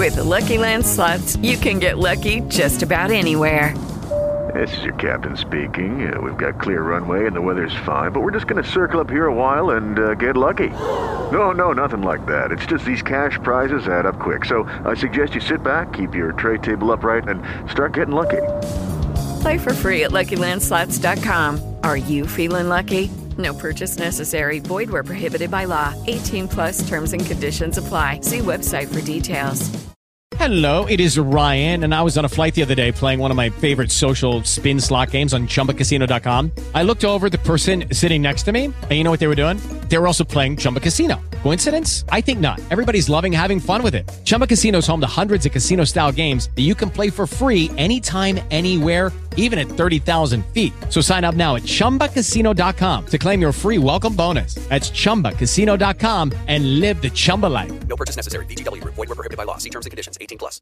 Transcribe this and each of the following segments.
With the Lucky Land Slots, you can get lucky just about anywhere. This is your captain speaking. We've got clear runway and the weather's fine, but we're just going to circle up here a while and get lucky. No, nothing like that. It's just these cash prizes add up quick. So I suggest you sit back, keep your tray table upright, and start getting lucky. Play for free at LuckyLandSlots.com. Are you feeling lucky? No purchase necessary. Void where prohibited by law. 18 plus terms and conditions apply. See website for details. Hello, it is Ryan, and I was on a flight the other day playing one of my favorite social spin slot games on ChumbaCasino.com. I looked over at the person sitting next to me, and you know what they were doing? They were also playing Chumba Casino. Coincidence? I think not. Everybody's loving having fun with it. Chumba Casino is home to hundreds of casino-style games that you can play for free anytime, anywhere, even at 30,000 feet. So sign up now at ChumbaCasino.com to claim your free welcome bonus. That's ChumbaCasino.com and live the Chumba life. No purchase necessary. VGW. Void where prohibited by law. See terms and conditions. 18 plus.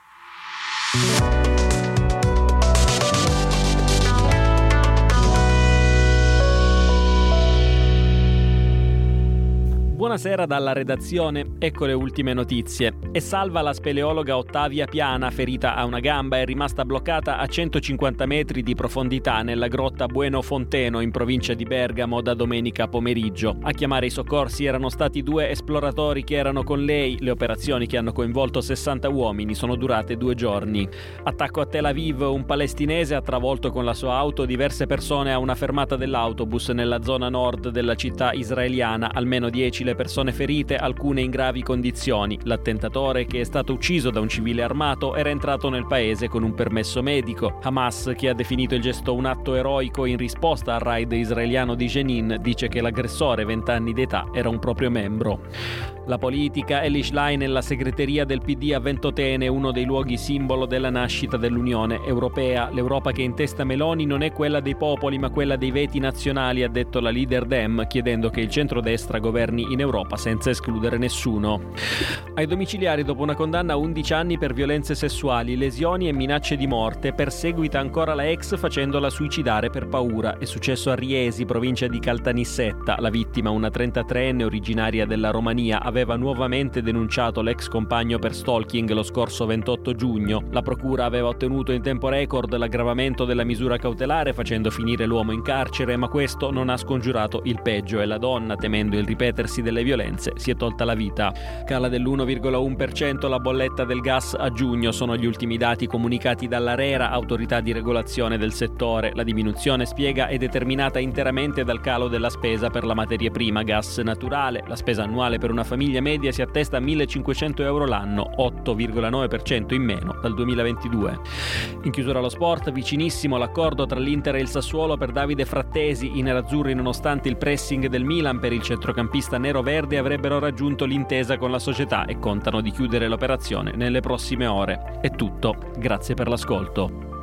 Buonasera dalla redazione, ecco le ultime notizie. È salva la speleologa Ottavia Piana, ferita a una gamba, è rimasta bloccata a 150 metri di profondità nella grotta Bueno Fonteno in provincia di Bergamo da domenica pomeriggio. A chiamare i soccorsi erano stati 2 esploratori che erano con lei. Le operazioni, che hanno coinvolto 60 uomini, sono durate 2 giorni. Attacco a Tel Aviv, un palestinese ha travolto con la sua auto diverse persone a una fermata dell'autobus nella zona nord della città israeliana, almeno 10 le persone ferite, alcune in gravi condizioni. L'attentatore, che è stato ucciso da un civile armato, era entrato nel paese con un permesso medico. Hamas, che ha definito il gesto un atto eroico in risposta al raid israeliano di Jenin, dice che l'aggressore, 20 anni d'età, era un proprio membro. La politica, Elly Schlein nella segreteria del PD a Ventotene, uno dei luoghi simbolo della nascita dell'Unione Europea. L'Europa che intesta Meloni non è quella dei popoli ma quella dei veti nazionali, ha detto la leader Dem, chiedendo che il centrodestra governi in Europa senza escludere nessuno. Ai domiciliari, dopo una condanna a 11 anni per violenze sessuali, lesioni e minacce di morte, perseguita ancora la ex facendola suicidare per paura. È successo a Riesi, provincia di Caltanissetta. La vittima, una 33enne originaria della Romania, aveva nuovamente denunciato l'ex compagno per stalking lo scorso 28 giugno. La procura aveva ottenuto in tempo record l'aggravamento della misura cautelare facendo finire l'uomo in carcere, ma questo non ha scongiurato il peggio e la donna, temendo il ripetersi delle violenze, si è tolta la vita. Cala dell'1,1% la bolletta del gas a giugno, sono gli ultimi dati comunicati dall'ARERA, autorità di regolazione del settore. La diminuzione, spiega, è determinata interamente dal calo della spesa per la materia prima gas naturale. La spesa annuale per una famiglia media si attesta a 1.500 euro l'anno, 8,9% in meno dal 2022. In chiusura allo sport, vicinissimo l'accordo tra l'Inter e il Sassuolo per Davide Frattesi. I nerazzurri, nonostante il pressing del Milan per il centrocampista nero-verde, avrebbero raggiunto l'intesa con la società e contano di chiudere l'operazione nelle prossime ore. È tutto, grazie per l'ascolto.